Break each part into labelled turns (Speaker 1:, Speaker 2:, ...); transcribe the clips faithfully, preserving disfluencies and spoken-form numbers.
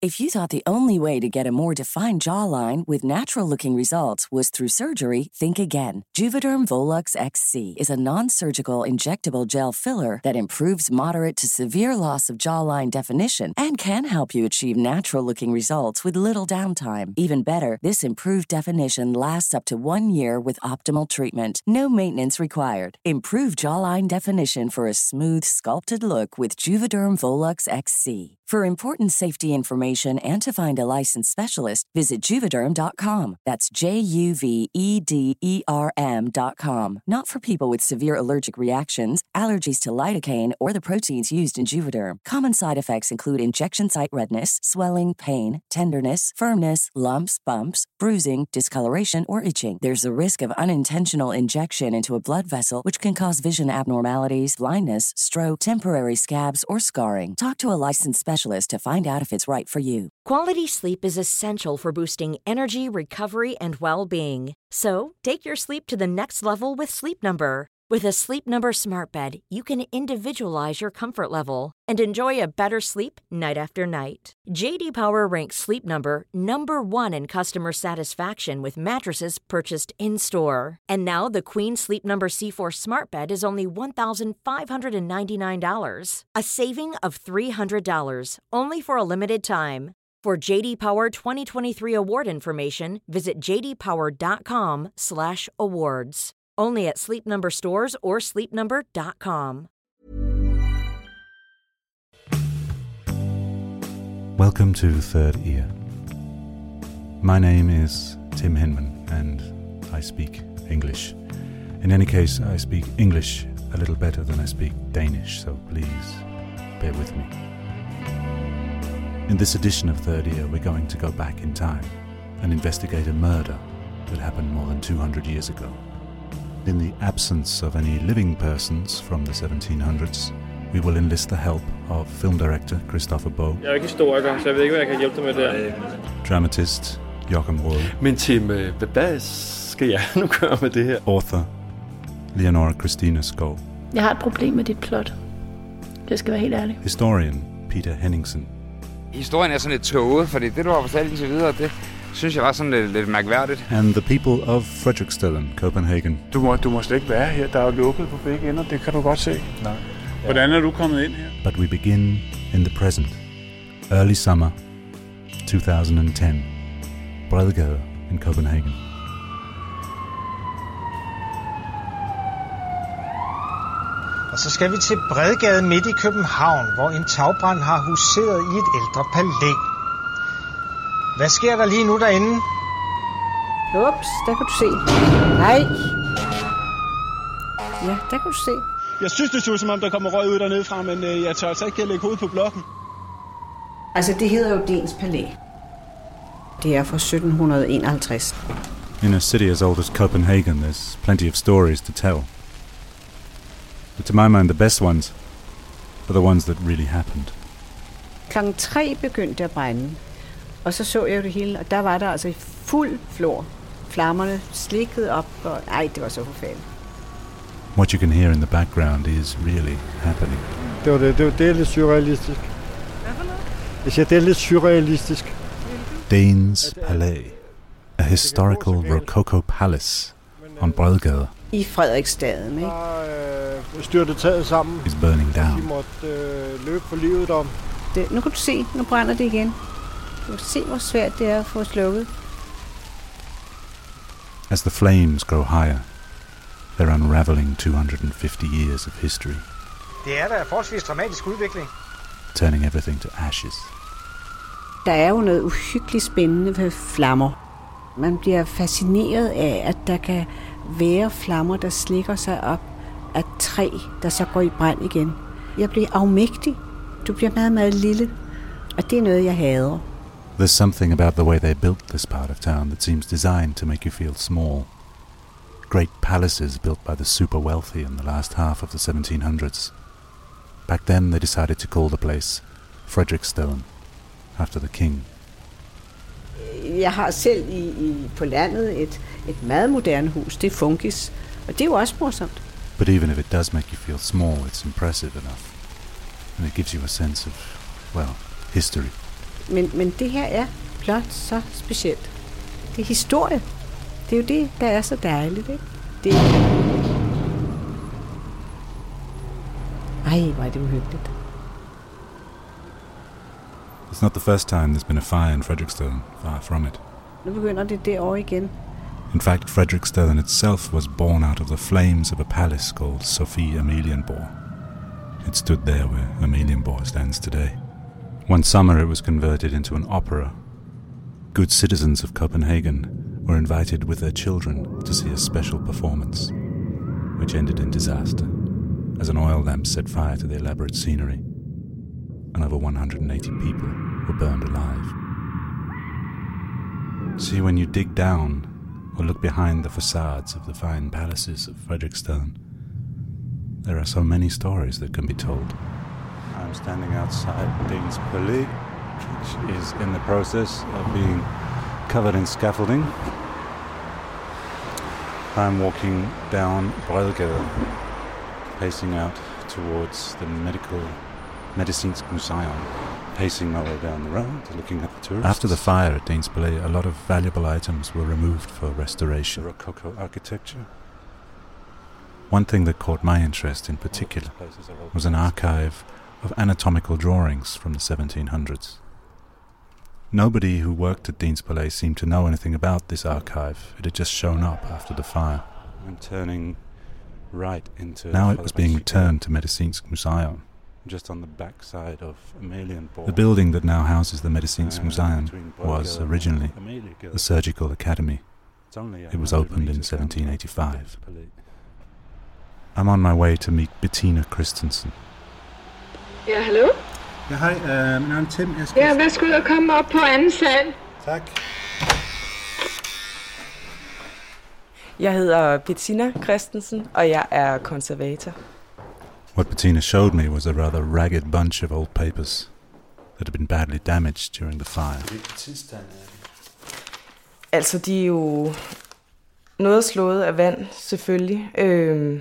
Speaker 1: If you thought the only way to get a more defined jawline with natural-looking results was through surgery, think again. Juvederm Volux X C is a non-surgical injectable gel filler that improves moderate to severe loss of jawline definition and can help you achieve natural-looking results with little downtime. Even better, this improved definition lasts up to one year with optimal treatment. No maintenance required. Improve jawline definition for a smooth, sculpted look with Juvederm Volux X C. For important safety information and to find a licensed specialist, visit Juvederm dot com. That's J U V E D E R M dot com. Not for people with severe allergic reactions, allergies to lidocaine, or the proteins used in Juvederm. Common side effects include injection site redness, swelling, pain, tenderness, firmness, lumps, bumps, bruising, discoloration, or itching. There's a risk of unintentional injection into a blood vessel, which can cause vision abnormalities, blindness, stroke, temporary scabs, or scarring. Talk to a licensed specialist to find out if it's right for you.
Speaker 2: Quality sleep is essential for boosting energy, recovery, and well-being. So, take your sleep to the next level with Sleep Number. With a Sleep Number smart bed, you can individualize your comfort level and enjoy a better sleep night after night. J D Power ranks Sleep Number number one in customer satisfaction with mattresses purchased in-store. And now the Queen Sleep Number C four smart bed is only one thousand five hundred ninety-nine dollars, a saving of three hundred dollars, only for a limited time. For J D Power twenty twenty-three award information, visit j d power dot com slash awards. Only at Sleep Number stores or sleep number dot com.
Speaker 3: Welcome to Third Ear. My name is Tim Hinman and I speak English. In any case, I speak English a little better than I speak Danish, so please bear with me. In this edition of Third Ear, we're going to go back in time and investigate a murder that happened more than two hundred years ago. In the absence of any living persons from the seventeen hundreds, we will enlist the help of film director Christopher Boe.
Speaker 4: Jeg er ikke historiker, så jeg ved ikke, hvad jeg kan hjælpe dig med der.
Speaker 3: Dramatist Joachim Rode.
Speaker 5: Men Tim, hvad skal jeg nu gøre med det her?
Speaker 3: Author Leonora Christina Skov.
Speaker 6: Jeg har et problem med dit plot. Det skal være helt ærligt.
Speaker 3: Historian Peter Henningsen.
Speaker 7: Historien er sådan lidt tåget, fordi det, du har fortalt indtil videre, det synes jeg var sådan lidt, lidt mærkværdigt.
Speaker 3: And the people of Frederiksstellen, Copenhagen.
Speaker 4: Du må, du må slet ikke være her. Der er jo lukket på begge ender, det kan du godt se. Nej. Hvordan er du kommet ind her?
Speaker 3: But we begin in the present. Early summer two thousand ten. Bredgade in Copenhagen.
Speaker 8: Og så skal vi til Bredgade midt i København, hvor en tagbrand har huseret i et ældre palæ. Hvad sker der lige nu derinde?
Speaker 9: Ups, der kan du se. Nej. Ja, der kan du se.
Speaker 10: Jeg synes, det så som om, der kommer røg ud dernede fra, men øh, jeg tør altså ikke at lægge hovedet på blokken.
Speaker 9: Altså, det hedder jo Dens Palæ. Det er fra sytten enoghalvtreds.
Speaker 3: In a city as old as Copenhagen, there's plenty of stories to tell. But to my mind, the best ones are the ones that really happened.
Speaker 9: Klokken tre begyndte at brænde, og så så jeg det hele, og der var der altså i fuld flor. Flammerne slikkede op, og ej, det var så forfærdeligt.
Speaker 3: What you can hear in the background is really happening.
Speaker 11: Det var det, det, var, det er lidt surrealistisk.
Speaker 12: Hvad for noget?
Speaker 11: Jeg siger, det er lidt surrealistisk.
Speaker 3: Danes Palæ, a historical rococo palace on Bredgade.
Speaker 9: I Frederiksstaden, ikke?
Speaker 11: Der er styrtet taget sammen.
Speaker 3: Is burning down.
Speaker 11: De måtte øh, løbe for livet om.
Speaker 9: Det, nu kan du se, nu brænder det igen. Du kan se, hvor svært det er at få slukket.
Speaker 3: As the flames grow higher, they're unraveling two hundred fifty years of history.
Speaker 8: Det er da en forholdsvis dramatisk udvikling.
Speaker 3: Turning everything to ashes.
Speaker 9: Der er jo noget uhyggeligt spændende ved flammer. Man bliver fascineret af, at der kan være flammer, der slikker sig op af træ, der så går i brand igen. Jeg bliver afmægtig. Du bliver meget, meget lille. Og det er noget, jeg hader.
Speaker 3: There's something about the way they built this part of town that seems designed to make you feel small. Great palaces built by the super wealthy in the last half of the seventeen hundreds. Back then they decided to call the place Frederiksstellen, after the king.
Speaker 9: Jeg har selv i, i, på landet et, et meget moderne hus. Det er Funkis, og det er jo også morsomt.
Speaker 3: But even if it does make you feel small, it's impressive enough. And it gives you a sense of, well, history.
Speaker 9: Men, men det her er blot så specielt. Det er historie. Det er jo det, der er så dejligt, ikke? Det er... Ej, hvor er det uhyggeligt.
Speaker 3: It's not the first time there's been a fire in Frederiksstaden, far from it.
Speaker 9: Nu begynder det derovre igen.
Speaker 3: In fact, Frederiksstaden itself was born out of the flames of a palace called Sophie Amalienborg. It stood there where Amalienborg stands today. One summer it was converted into an opera. Good citizens of Copenhagen were invited with their children to see a special performance, which ended in disaster, as an oil lamp set fire to the elaborate scenery, and over one hundred eighty people were burned alive. See, when you dig down or look behind the facades of the fine palaces of Frederiksstaden, there are so many stories that can be told. I'm standing outside Danes Palais, which is in the process of being covered in scaffolding. I'm walking down Bredgade, pacing out towards the medical Medicinsk Museum, pacing my way down the road, looking at the tourists. After the fire at Danes Palais, a lot of valuable items were removed for restoration. The Rococo architecture. One thing that caught my interest in particular was an archive of anatomical drawings from the seventeen hundreds. Nobody who worked at Danes Palais seemed to know anything about this archive. It had just shown up after the fire. I'm turning right into... Now it was being returned to Medicinsk Museum, just on the back side of Amalienborg. The building that now houses the Medicinsk uh, Museum was originally the Surgical Academy. It was opened in seventeen eighty-five. I'm on my way to meet Bettina Christensen.
Speaker 12: Ja, hallo?
Speaker 13: Ja, hej. Uh, min navn er Tim. Jeg skal...
Speaker 12: Ja, værsgo og komme op på anden sal.
Speaker 13: Tak.
Speaker 14: Jeg hedder Bettina Christensen, og jeg er konservator.
Speaker 3: What Bettina showed me was a rather ragged bunch of old papers that had been badly damaged during the fire.
Speaker 14: Altså, de er jo noget slået af vand, selvfølgelig. Øhm,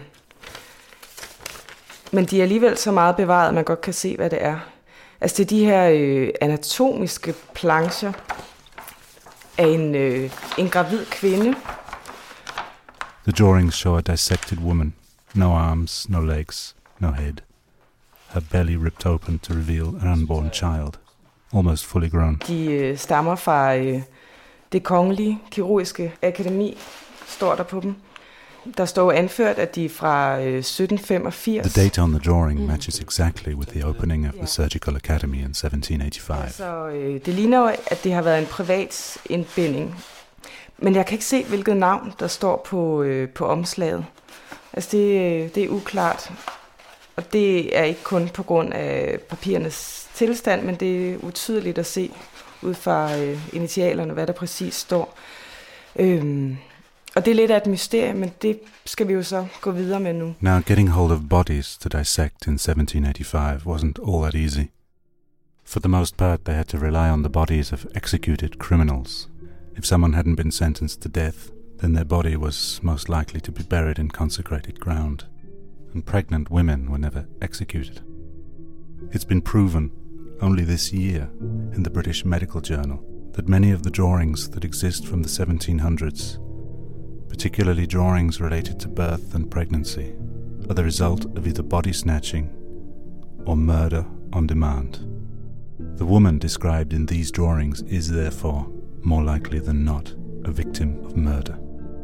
Speaker 14: men de er alligevel så meget bevaret, at man godt kan se, hvad det er. Altså, det er de her øh, anatomiske plancher af en, øh, en gravid kvinde.
Speaker 3: The drawings show a dissected woman. No arms, no legs, no head. Her belly ripped open to reveal an unborn child, almost fully grown.
Speaker 14: De øh, stammer fra øh, det kongelige kirurgiske akademi, står der på dem. Der står anført, at de er fra øh, sytten femogfirs.
Speaker 3: The date on the drawing matches exactly with the opening of the Surgical Academy in seventeen eighty-five.
Speaker 14: Så øh, det ligner jo, at det har været en privat indbinding. Men jeg kan ikke se, hvilket navn, der står på, øh, på omslaget. Altså, det, det er uklart. Og det er ikke kun på grund af papirernes tilstand, men det er utydeligt at se ud fra øh, initialerne, hvad der præcis står. Øhm, og det er lidt af et mysterie, men det skal vi jo så gå videre med nu.
Speaker 3: Now, getting hold of bodies to dissect in seventeen eighty-five wasn't all that easy. For the most part, they had to rely on the bodies of executed criminals. If someone hadn't been sentenced to death, then their body was most likely to be buried in consecrated ground, and pregnant women were never executed. It's been proven only this year in the British Medical Journal that many of the drawings that exist from the seventeen hundreds, particularly drawings related to birth and pregnancy, are the result of either body snatching or murder on demand. The woman described in these drawings is therefore more likely than not a victim of murder.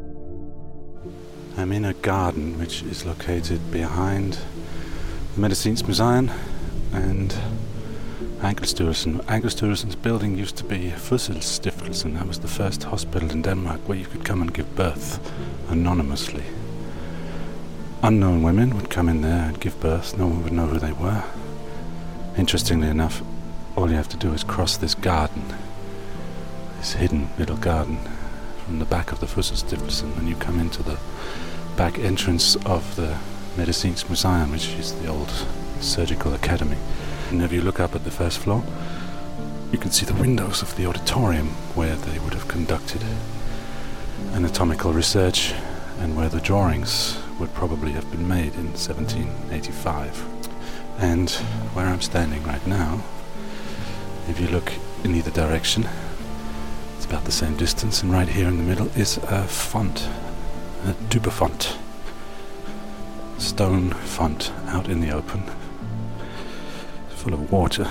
Speaker 3: I'm in a garden which is located behind the Medicinsk Museum and Ankelsstyrelsen. Ankelsstyrelsen's building used to be Fødselsstiftelsen. That was the first hospital in Denmark where you could come and give birth anonymously. Unknown women would come in there and give birth. No one would know who they were. Interestingly enough, all you have to do is cross this garden, this hidden little garden, from the back of the Fødselsstiftelsen, and you come into the back entrance of the Medicinsk Museum, which is the old Surgical Academy. And if you look up at the first floor, you can see the windows of the auditorium where they would have conducted anatomical research and where the drawings would probably have been made in seventeen eighty-five. And where I'm standing right now, if you look in either direction. It's about the same distance, and right here in the middle is a font, a Dupperfont. Stone font out in the open, full of water.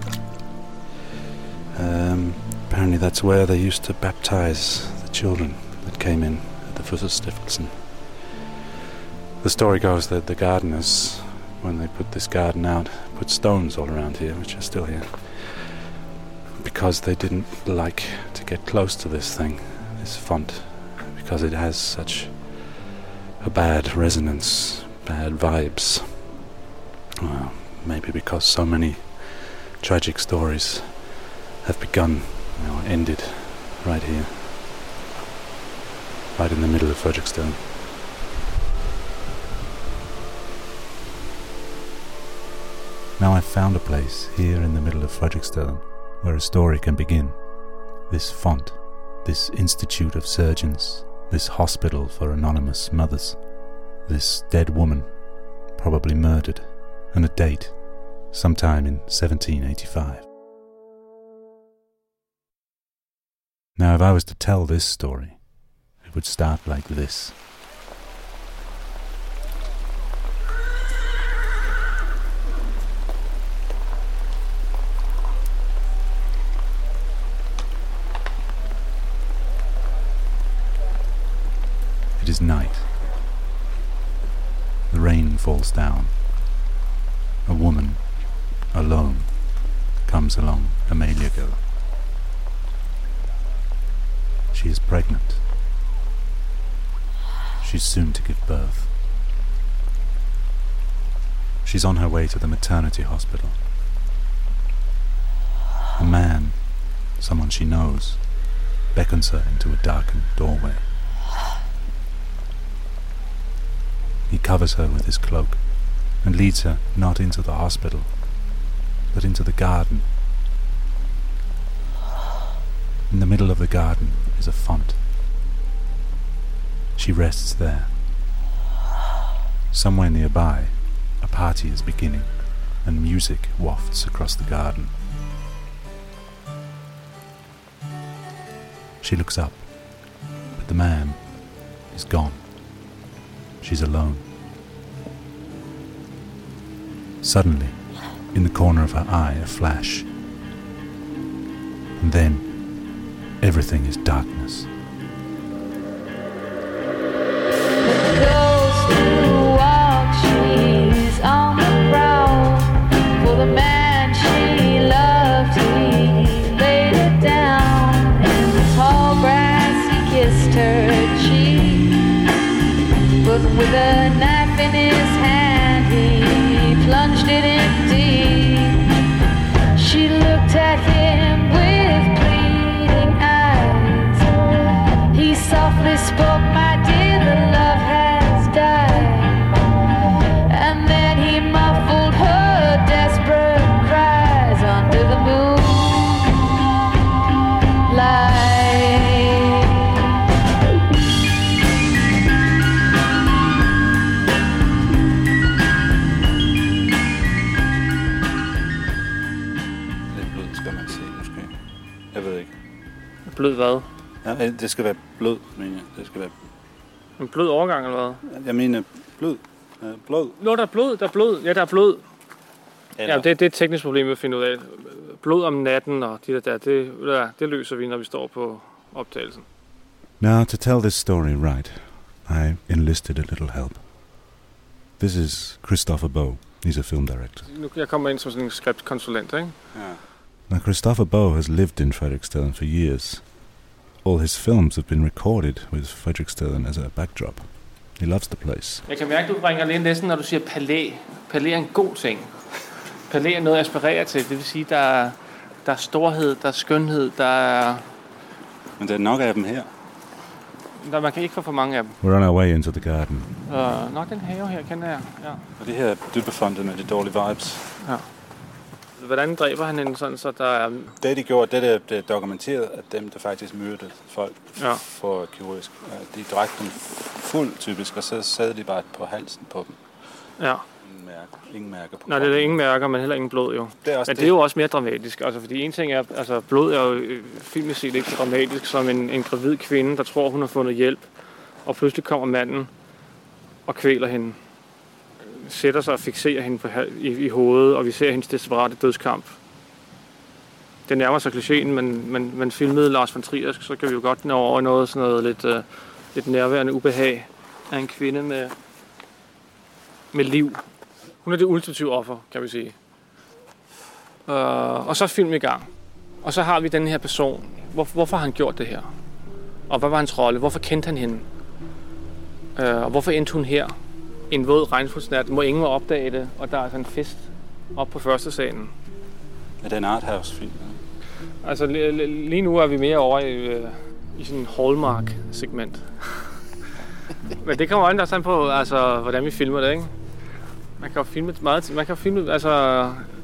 Speaker 3: Um, apparently that's where they used to baptize the children that came in at the Fødselsstiftelsen. The story goes that the gardeners, when they put this garden out, put stones all around here, which are still here, because they didn't like to get close to this thing, this font, because it has such a bad resonance, bad vibes. Well, maybe because so many tragic stories have begun, you know, ended right here, right in the middle of Frederiksstaden. Now I've found a place here in the middle of Frederiksstaden where a story can begin. This font, this institute of surgeons, this hospital for anonymous mothers, this dead woman, probably murdered, and a date, sometime in seventeen eighty-five. Now if I was to tell this story, it would start like this. It is night. The rain falls down. A woman, alone, comes along Amaliagade. She is pregnant. She's soon to give birth. She's on her way to the maternity hospital. A man, someone she knows, beckons her into a darkened doorway. He covers her with his cloak and leads her not into the hospital, but into the garden. In the middle of the garden is a font. She rests there. Somewhere nearby, a party is beginning, and music wafts across the garden. She looks up, but the man is gone. She's alone. Suddenly, in the corner of her eye, a flash. And then, everything is darkness.
Speaker 15: With a knife in his hand, he plunged it in deep. She looked at him with pleading eyes. He softly spoke, "My dear, the love has died." And then he muffled her desperate cries under the moonlight.
Speaker 16: Blød hvad?
Speaker 13: Ja, det skal være blød, mener jeg. Det skal være...
Speaker 16: En blød overgang, eller hvad?
Speaker 13: Jeg mener blød. Ja, blød.
Speaker 16: Nå, der er blod, der er blod. Ja, der er blod.
Speaker 13: Eller...
Speaker 16: Ja, det, det er et teknisk problem at finde ud af. Blod om natten og de der, der det, ja, det løser vi, når vi står på optagelsen.
Speaker 3: Now, to tell this story right, I enlisted a little help. This is Christopher Boe. He's a film director.
Speaker 16: Nu jeg kommer ind som sådan en skriptkonsulent, ikke?
Speaker 13: Ja.
Speaker 3: Now, Christopher Boe has lived in Frederiksstaden for years. All his films have been recorded with Frederiksstaden as a backdrop. He loves the place.
Speaker 16: Jeg kan mærke, at du bringer lidt næsten, når du siger palæ. Palæ er en god ting. Palæ er noget at aspirere til. Det vil sige, der er, der er storhed, der er skønhed, der er...
Speaker 13: Men der er nok af dem her.
Speaker 16: Der, man kan ikke få for mange af dem.
Speaker 3: We're on our way into the garden.
Speaker 16: Uh, nok den have her, kender jeg. Ja.
Speaker 13: Og det her er Dupperfontet med de dårlige vibes.
Speaker 16: Ja. Hvordan dræber han hende sådan, så der er...
Speaker 13: Det de gjorde, det er, det er dokumenteret, at dem, der faktisk myrdede folk
Speaker 16: ja.
Speaker 13: for kirurgisk, de dræbte dem fuld typisk, og så sad de bare på halsen på dem.
Speaker 16: Ja.
Speaker 13: Med mærker. Ingen mærker på
Speaker 16: Nej, det er ingen mærker, men heller ingen blod jo.
Speaker 13: Det er også
Speaker 16: men
Speaker 13: det.
Speaker 16: det er jo også mere dramatisk. Altså, fordi en ting er, altså blod er jo filmisk set ikke så dramatisk som en, en gravid kvinde, der tror, hun har fundet hjælp. Og pludselig kommer manden og kvæler hende. Sætter sig og fikserer hende på, i, i hovedet, og vi ser hendes desperate dødskamp. Det nærmer sig klichéen, men, men, men filmede Lars von Trier, så kan vi jo godt nå over noget, sådan noget lidt, uh, lidt nærværende ubehag af en kvinde med, med liv. Hun er det ultimative offer, kan vi sige. Uh, og så er filmen i gang. Og så har vi den her person. Hvor, hvorfor har han gjort det her? Og hvad var hans rolle? Hvorfor kendte han hende? Uh, og hvorfor endte hun her? En våd regnfuldsnat. Må ingen må opdage det. Og der er altså en fest op på første salen.
Speaker 13: Er det en arthouse-film?
Speaker 16: Altså lige nu er vi mere over i, i sådan en Hallmark-segment. Men det kommer også an på, altså, hvordan vi filmer det, ikke? Man kan jo filme meget, man kan jo filme, altså,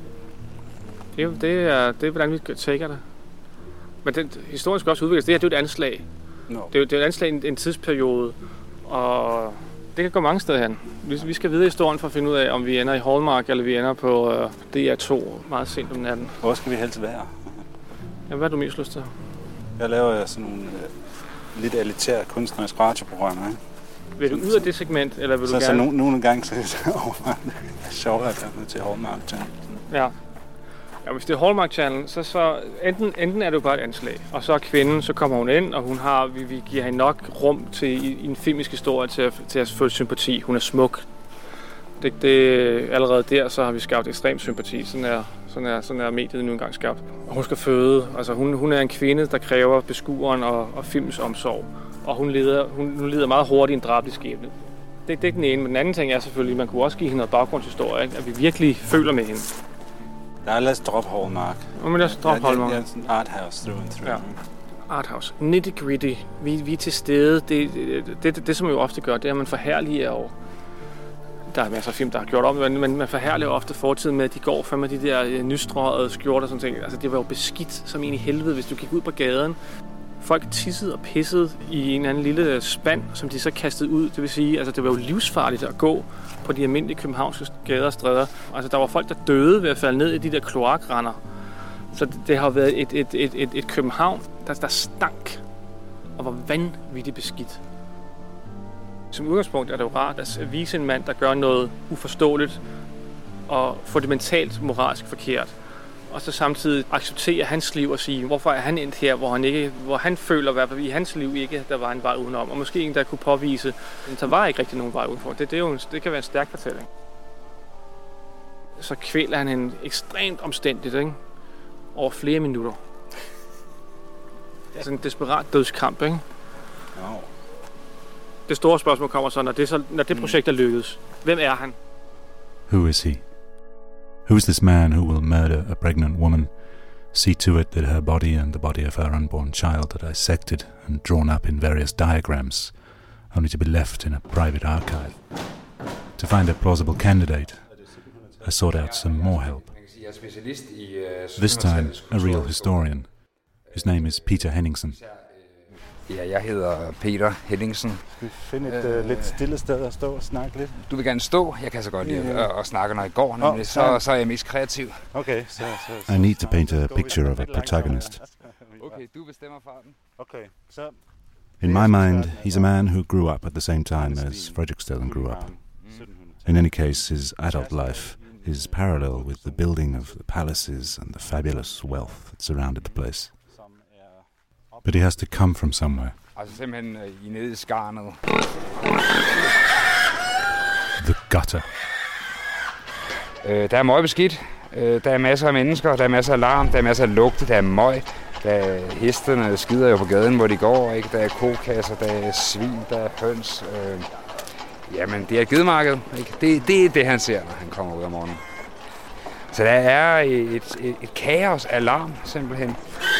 Speaker 16: det, det, er, det er, hvordan vi tager det. Men den historien skal også udvikles. Det her, det er jo et anslag. No. Det, er jo, det er et anslag i en, en tidsperiode, og det kan gå mange steder hen. Vi, vi skal vide historien for at finde ud af, om vi ender i Hallmark, eller vi ender på uh, D R to meget sent om natten.
Speaker 13: Hvor skal vi helst være?
Speaker 16: Ja, hvad har du mest lyst til?
Speaker 13: Jeg laver sådan nogle uh, lidt elitære kunstneriske radioprogrammer, ikke?
Speaker 16: Vil du ud af det segment, eller vil du
Speaker 13: så,
Speaker 16: gerne...
Speaker 13: Så nogle, nogle gange så er det overvejen. Det er sjovt, at jeg er til Hallmark Channel.
Speaker 16: Ja. Ja, hvis det er Hallmark Channel, så, så enten, enten er det jo bare et anslag, og så er kvinden, så kommer hun ind, og hun har, vi, vi giver hende nok rum til i, i en filmisk historie til at, til at føle sympati. Hun er smuk. Det, det, allerede der, så har vi skabt ekstrem sympati. Sådan er, sådan er, sådan er mediet nu engang skabt. Og hun skal føde. Altså, hun, hun er en kvinde, der kræver beskueren og, og filmens omsorg. Og hun lider, hun, hun lider meget hurtigt en drabelig skæbne. Det, det er den ene. Men den anden ting er selvfølgelig, at man kunne også give hende noget baggrundshistorie, ikke? At vi virkelig føler med hende.
Speaker 13: Nej, lad os droppe Hallmark.
Speaker 16: Må man lad os droppe Hallmark.
Speaker 13: Det er sådan arthouse through and through. Ja.
Speaker 16: Arthouse. Nitty-gritty. Vi, vi er til stede. Det, det, det, det, det, som man jo ofte gør, det er, at man forherliger over. Der er masser af film, der har gjort om, men man forherliger ofte fortiden med, at de går for med de der nystrøgede skjorter og sådan ting. Altså, det var jo beskidt som en i helvede, hvis du gik ud på gaden. Folk tissede og pissede i en eller anden lille spand, som de så kastede ud. Det vil sige, altså det var jo livsfarligt at gå på de almindelige københavnske gader og stræder. Altså der var folk, der døde ved at falde ned i de der kloakrender. Så det, det har været et, et, et, et, et København, der, der stank og var vanvittigt beskidt. Som udgangspunkt er det jo rart at vise en mand, der gør noget uforståeligt og fundamentalt moralsk forkert. Og så samtidig acceptere hans liv og sige, hvorfor er han endt her, hvor han, ikke, hvor han føler, at i hans liv ikke der var en vej udenom. Og måske en, der kunne påvise, at der var ikke rigtig nogen vej udenfor. Det, det, er jo en, det kan være en stærk fortælling. Så kvæler han hende ekstremt omstændigt, ikke? Over flere minutter. Det er sådan en desperat dødskamp, ikke?
Speaker 13: No.
Speaker 16: Det store spørgsmål kommer så, når det, så, når det projekt er lykkedes. Hvem er han?
Speaker 3: Who is he? Who is this man who will murder a pregnant woman, see to it that her body and the body of her unborn child are dissected and drawn up in various diagrams, only to be left in a private archive? To find a plausible candidate, I sought out some more help. This time, a real historian. His name is Peter Henningsen.
Speaker 7: Ja, jeg hedder Peter Henningsen.
Speaker 13: Skal vi finde et øh, lidt stille sted at stå og snakke lidt?
Speaker 7: Du vil gerne stå? Jeg kan så godt lide at, at snakke, når jeg går, nemlig. Oh, så, så er jeg mest kreativ.
Speaker 13: Okay, så, så, så,
Speaker 3: I need to paint a picture of a protagonist.
Speaker 7: Okay, du bestemmer farten.
Speaker 13: Okay, så...
Speaker 3: In my mind, he's a man who grew up at the same time as Frederick Stedman grew up. In any case, his adult life is parallel with the building of the palaces and the fabulous wealth that surrounded the place. But he has to come from somewhere.
Speaker 7: Altså simpelthen i nede i skarnet.
Speaker 3: The gutter.
Speaker 7: Øh, der er møg beskidt. Øh, der er masser af mennesker, der er masser af larm, der er masser af lugte, der er møg. Der er hestene skider jo på gaden, hvor de går, ikke? Der er kokasser, der er svin, der er høns. Øh, jamen, det er et gedemarked, ikke? Det, det er det, han ser, når han kommer ud om morgenen. Så der er et, et, et kaos af larm, simpelthen.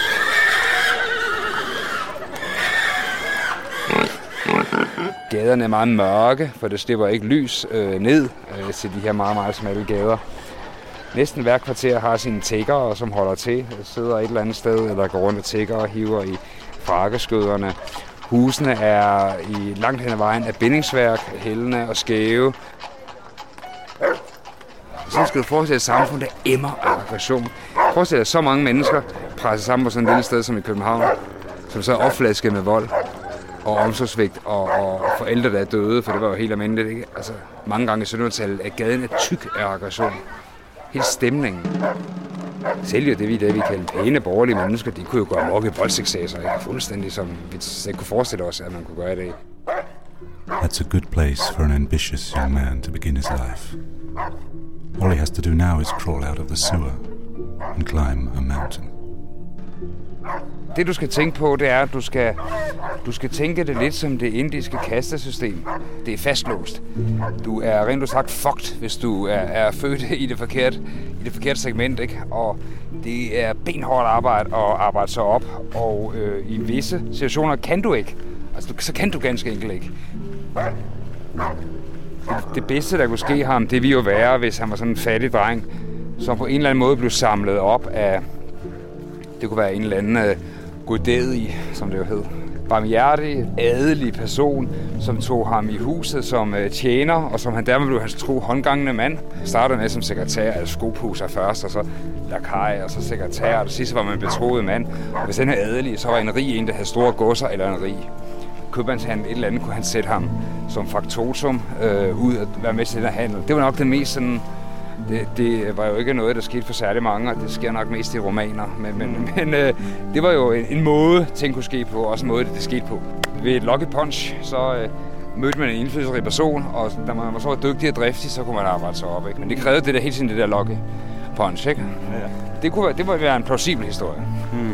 Speaker 7: Gaderne er meget mørke, for det slipper ikke lys øh, ned øh, til de her meget, meget smalle gader. Næsten hver kvarter har sine tiggere, som holder til, sidder et eller andet sted, eller går rundt og tigger og hiver i frakkeskøderne. Husene er i langt hen ad vejen af bindingsværk, hældende og skæve. Så skal du forestille et samfund, der emmer af aggression. Forestil dig så mange mennesker presset sammen på sådan et lille sted som i København, som så er opflasket med vold og omsorgsvigt og, og forældre, der er døde, for det var jo helt almindeligt, ikke? Altså, mange gange i syttenhundredetallet er gaden er tyk af aggression. Hele stemningen. Selv jo det, vi, det, vi kalder pæne borgerlige mennesker, de kunne jo gå amok i voldsexcesser, ikke? Fuldstændig som vi ikke kunne forestille os, at man kunne gøre det.
Speaker 3: That's a good place for an ambitious young man to begin his life. All he has to do now is crawl out of the sewer and climb a mountain.
Speaker 7: Det du skal tænke på, det er, at du skal, du skal tænke det lidt som det indiske kastesystem. Det er fastlåst. Du er rent sagt fucked, hvis du er, er født i det forkerte, i det forkerte segment, ikke? Og det er benhårdt arbejde at arbejde sig op, og øh, i visse situationer kan du ikke. Altså, så kan du ganske enkelt ikke. Det, det bedste, der kunne ske ham, det ville jo være, hvis han var sådan en fattig dreng, som på en eller anden måde blev samlet op af, det kunne være en eller anden uh, godædig, som det jo hed, barmhjertig, adelig person, som tog ham i huset som uh, tjener, og som han dermed blev hans tro håndgangende mand. Startede med som sekretær, altså skopuser først, og så lakaj, og så sekretær, og det sidste var man betroet mand. Og hvis den her adelige, så var en rig en, der havde store godser, eller en rig købmandshandel, et eller andet, kunne han sætte ham som faktotum øh, ud og være med til den her handel. Det var nok det mest sådan. Det, det var jo ikke noget, der skete for særlig mange, og det sker nok mest i romaner. Men, men, men øh, det var jo en, en måde, ting kunne ske på, og også en måde, det, det skete på. Ved et lucky punch, så øh, mødte man en indflydelsesrig person, og da man var så dygtig og driftig, så kunne man arbejde sig op. Ikke? Men det krævede det der hele tiden, det der lucky punch, ikke? Ja. Det kunne det måtte være en plausibel historie. Hmm.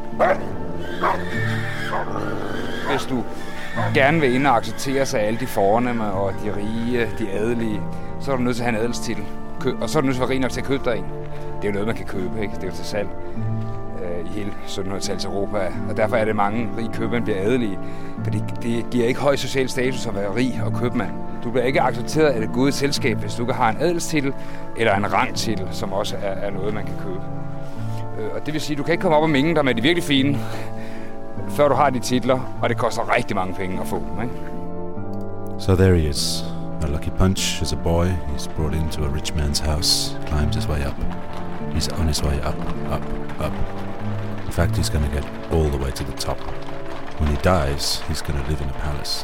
Speaker 7: Hvis du gerne vil ind og acceptere sig af alle de fornemme og de rige, de adelige, så er du nødt til at have en adelstitel. Og så er du nødt til at være rig nok til at købe dig en. Det er jo noget, man kan købe, ikke? Det er jo til salg øh, i hele syttenhundredetallet Europa. Og derfor er det mange rige købmænd bliver adelige. For det, det giver ikke høj social status at være rig og købmand. Du bliver ikke accepteret af det gode selskab, hvis du ikke har en adelstitel eller en rangtitel, som også er, er noget, man kan købe. Øh, og det vil sige, at du kan ikke komme op og minge dig med de virkelig fine, før du har de titler, og det koster rigtig mange penge at få dem, ikke?
Speaker 3: So there he is. A lucky punch as a boy. He's brought into a rich man's house, climbs his way up. He's on his way up, up, up. In fact, he's going to get all the way to the top. When he dies, he's going to live in a palace.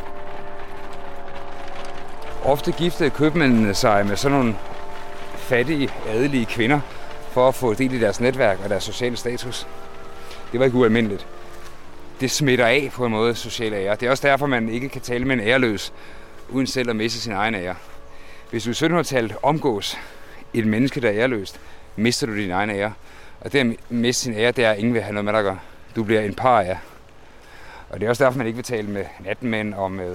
Speaker 7: Ofte giftede købmændene sig med sådan nogle fattige, adelige kvinder for at få del i deres netværk og deres sociale status. Det var ikke ualmindeligt. Det smitter af på en måde social ære. Det er også derfor, man ikke kan tale med en æreløs, uden selv at miste sin egen ære. Hvis du i syttenhundredetallet omgås et menneske, der er æreløst, mister du din egen ære. Og det at miste sin ære, det er, at ingen vil have noget med dig at gøre. Du bliver en paria. Og det er også derfor, man ikke vil tale med natmænd og med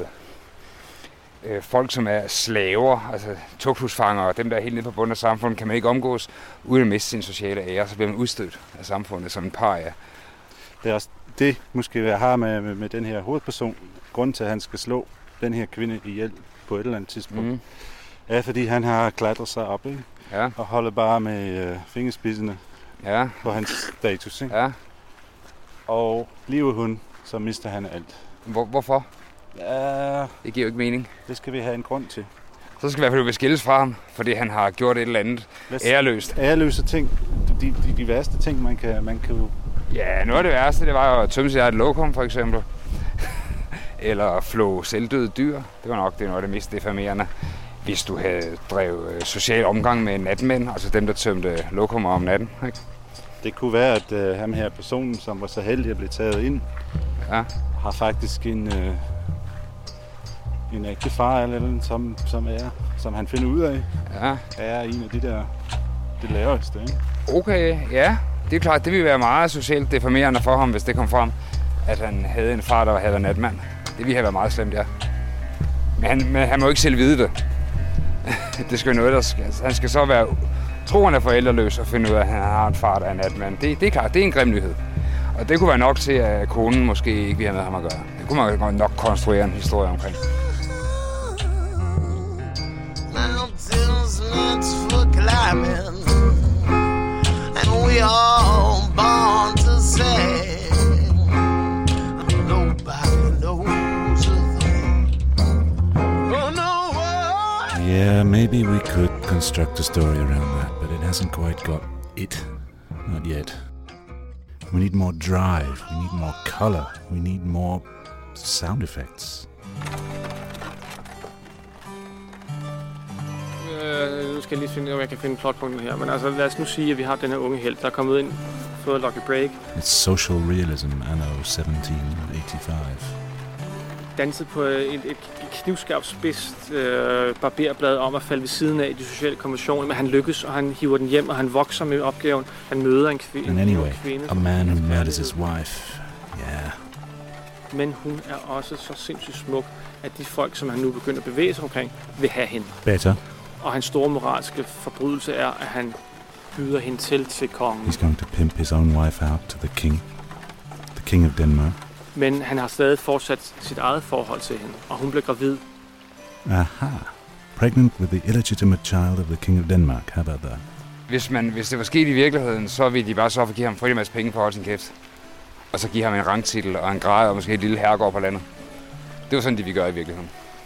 Speaker 7: øh, folk, som er slaver, altså tugthusfangere, og dem, der er helt nede på bunden af samfundet, kan man ikke omgås, uden at miste sin sociale ære. Så bliver man udstødt af samfundet som en paria.
Speaker 13: Det er også det, måske jeg har med, med, med den her hovedperson. Grunden til, at han skal slå den her kvinde ihjel på et eller andet tidspunkt, mm. er, fordi han har klatret sig op, ikke?
Speaker 7: Ja.
Speaker 13: Og holder bare med øh, fingerspidserne
Speaker 7: ja.
Speaker 13: på hans status. Ikke?
Speaker 7: Ja.
Speaker 13: Og bliver hun, så mister han alt.
Speaker 7: Hvor, hvorfor?
Speaker 13: Ja,
Speaker 7: det giver jo ikke mening.
Speaker 13: Det skal vi have en grund til.
Speaker 7: Så skal vi i hvert fald skilles fra ham, fordi han har gjort et eller andet æreløst.
Speaker 13: Æreløse ting. De, de, de værste ting, man kan, man kan jo...
Speaker 7: Ja, noget af det værste, det var jo at tømme sig af et lokum, for eksempel. Eller flå selvdøde dyr. Det var nok det noget af det mest defamerende. Hvis du havde drevet social omgang med natmænd, altså dem, der tømte lokummer om natten. Ikke?
Speaker 13: Det kunne være, at uh, ham her personen, som var så heldig at blive taget ind,
Speaker 7: ja.
Speaker 13: har faktisk en, uh, en ægte far, eller noget, som, som, er, som han finder ud af,
Speaker 7: ja.
Speaker 13: er en af de der det laveste. Ikke?
Speaker 7: Okay, ja. Det er klart, det ville være meget socialt deformerende for ham, hvis det kom frem, at han havde en far, der havde en natmand. Det ville have været meget slemt, ja. Men han, men han må ikke selv vide det. Det skal noget, der skal. Han skal så være troende forældreløs og finde ud af, at han har en far, der er natmand. Det, det er klart, det er en grim nyhed. Og det kunne være nok til, at konen måske ikke ville have med ham at gøre. Det kunne man nok konstruere en historie omkring.
Speaker 17: Mountains meant for climbing, and we all born to sing. Nobody knows a thing. Oh no.
Speaker 3: Yeah, maybe we could consider construct a story around that, but it hasn't quite got it. Not yet. We need more drive, we need more color, we need more sound effects.
Speaker 16: Øh, nu skal jeg lige finde, om jeg kan finde plotpunkten her. Men altså, lad os nu sige, at vi har den her unge helt, der er kommet ind, fået Lucky Break.
Speaker 3: It's social realism anno seventeen eighty-five.
Speaker 16: Danset på et, et knivskarpt spidst øh, barberblad om at falde ved siden af de sociale konventioner, men han lykkes, og han hiver den hjem, og han vokser med opgaven. Han møder en, kvi-
Speaker 3: And anyway,
Speaker 16: en kvinde.
Speaker 3: a man who murders his wife. Yeah.
Speaker 16: Men hun er også så sindssygt smuk, at de folk, som han nu begynder at bevæge sig omkring, vil have hende.
Speaker 3: Better.
Speaker 16: Og hans store moralske forbrydelse er, at han byder hende til til kongen.
Speaker 3: He's going to pimp his own wife out to the king. The king of Denmark.
Speaker 16: Men han har stadig fortsat sit eget forhold til hende, og hun bliver gravid.
Speaker 3: Aha. Pregnant with the illegitimate child of the king of Denmark. How about that?
Speaker 7: Hvis, man, hvis det var sket i virkeligheden, så ville de bare så for at give ham frygtelig masse penge for at holde sin kæft. Og så give ham en rangtitel og en grad og måske et lille herregård på landet. Det var sådan, de vi gør i virkeligheden.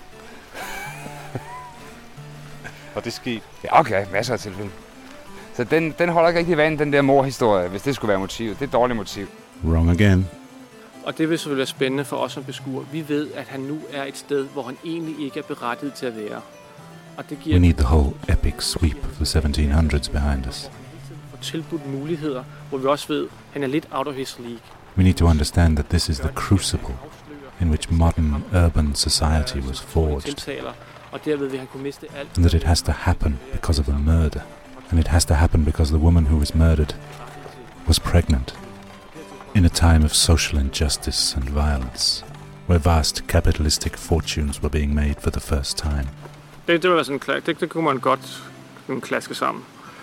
Speaker 13: Og det skete?
Speaker 7: Ja, okay. Masser af tilfælde. Så den, den holder ikke rigtig vand, den der morhistorie, hvis det skulle være motivet. Det er et dårligt motiv.
Speaker 3: Wrong again.
Speaker 16: Og det vil selvfølgelig være spændende for os som beskuer. Vi ved, at han nu er et sted, hvor han egentlig ikke er berettiget til at være. Og det giver
Speaker 3: We need the whole epic sweep of the seventeen hundreds behind us.
Speaker 16: Og tilbudt muligheder, hvor vi også ved, at han er lidt out of his league.
Speaker 3: We need to understand that this is the crucible in which modern urban society was forged.
Speaker 16: Og derved vil han kunne miste alt.
Speaker 3: And that it has to happen because of a murder. And it has to happen because the woman who was murdered was pregnant. In a time of social injustice and violence, where vast capitalistic fortunes were being made for the first time.
Speaker 16: Det, det, var sådan, det, det kunne man godt klaske sammen.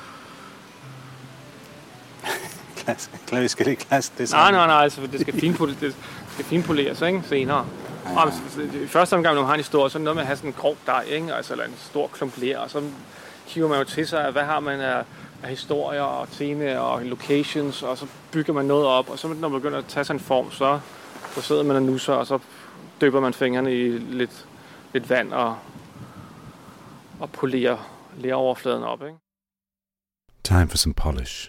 Speaker 13: Klasse? Vi skal ikke klaske det sammen?
Speaker 16: Nej, nej, nej, altså, det skal finpoleres, det skal finpoleres, ikke, senere. Ja, ja. Og i første omgang, når man har en historie, så er det noget med at have sådan en grov dej, ikke? Altså, eller en stor klump ler, og så kigger man jo til sig, hvad har man af, af historier og temaer og locations, og så bygger man noget op, og så når man begynder at tage sig en form, så, så sidder man og nusser, og så døber man fingrene i lidt, lidt vand og, og polerer leroverfladen op, ikke?
Speaker 3: Time for some polish.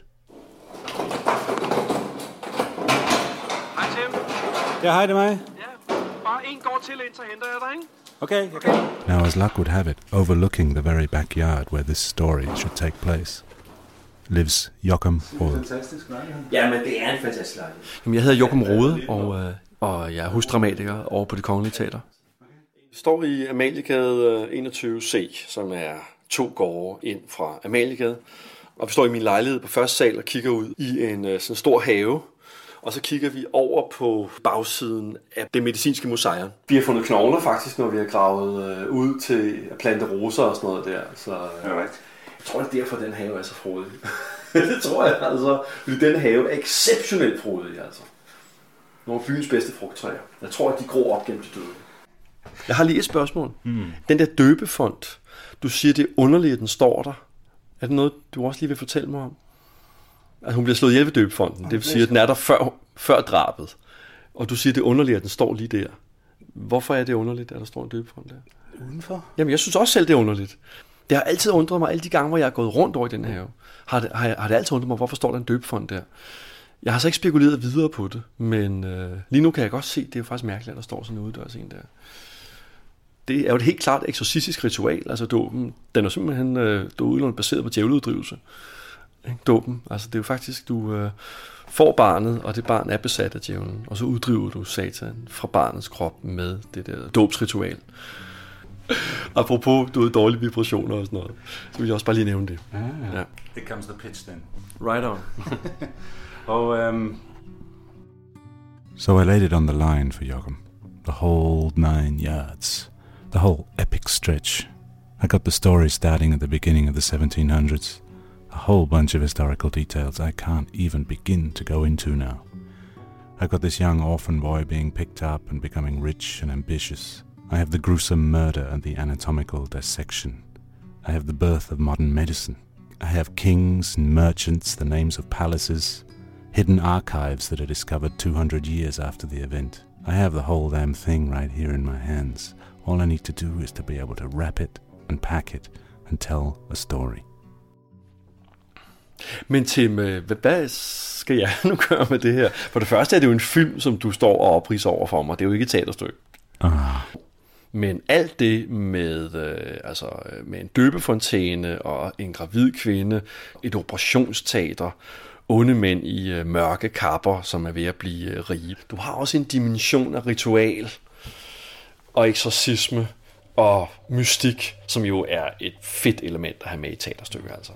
Speaker 10: Hej Tim.
Speaker 13: Ja, hej, det er mig.
Speaker 10: Ja, bare en går til ind, så henter jeg dig, ikke?
Speaker 13: Okay, okay.
Speaker 3: Now, as luck would have it, overlooking the very backyard where this story should take place, lives Joachim Rode.
Speaker 5: Ja, men det er en fantastisk lejlighed. Jamen, jeg hedder Joachim Rode, og, øh, og jeg er husdramatiker over på Det Kongelige Teater. Vi står i Amaliegade enogtyve C, som er to gårde ind fra Amaliegade. Og vi står i min lejlighed på første sal og kigger ud i en sådan stor have. Og så kigger vi over på bagsiden af det medicinske museum. Vi har fundet knogler faktisk, når vi har gravet øh, ud til at plante roser og sådan noget der. Så øh, jeg tror, det er derfor, den have er så frodig. Det tror jeg altså. Fordi den have er exceptionelt frodig, altså. Nogle af byens bedste frugttræer. Jeg tror, at de gror op gennem de døde. Jeg har lige et spørgsmål. Mm. Den der døbefont, du siger, det er underligt, at den står der. Er det noget, du også lige vil fortælle mig om? Altså, hun bliver slået ihjel ved døbefonten. Det vil sige, at den er der før, før drabet. Og du siger, at det er underligt, at den står lige der. Hvorfor er det underligt, at der står en døbefont der?
Speaker 13: Udenfor?
Speaker 5: Jamen, jeg synes også selv, det er underligt. Det har altid undret mig, alle de gange, hvor jeg er gået rundt over i den her have, har det, har, har det altid undret mig, hvorfor står der en døbefont der? Jeg har så ikke spekuleret videre på det, men øh, lige nu kan jeg godt se, at det er jo faktisk mærkeligt, at der står sådan en uddørs en der. Det er jo et helt klart eksorcistisk ritual, altså dåben. Den er simpelthen øh, udelukkende baseret på djævleuddrivelse. Dåben, altså det er jo faktisk, du øh, får barnet, og det barn er besat af djævlen, og så uddriver du satan fra barnets krop med det der dåbsritual. Apropos, du ved, dårlige vibrationer og sådan noget, så vil jeg også bare lige nævne det.
Speaker 13: Ah,
Speaker 5: ja.
Speaker 13: It comes the pitch then.
Speaker 5: Right on.
Speaker 13: og, um...
Speaker 3: So I laid it on the line for Joachim. The whole nine yards. The whole epic stretch. I got the story starting at the beginning of the seventeen hundreds. A whole bunch of historical details I can't even begin to go into now. I got this young orphan boy being picked up and becoming rich and ambitious. I have the gruesome murder and the anatomical dissection. I have the birth of modern medicine. I have kings and merchants, the names of palaces, hidden archives that are discovered two hundred years after the event. I have the whole damn thing right here in my hands. All I need to do is to be able to wrap it and pack it and and tell a story.
Speaker 5: Men Tim, hvad skal jeg nu gøre med det her? For det første er det jo en film, som du står og opridser over for mig. Det er jo ikke et teaterstykke.
Speaker 3: Ah.
Speaker 5: Men alt det med, øh, altså, med en døbefontæne og en gravid kvinde, et operationsteater, onde mænd i øh, mørke kapper, som er ved at blive øh, rige. Du har også en dimension af ritual og eksorcisme og mystik, som jo er et fedt element at have med i teaterstykker. Altså.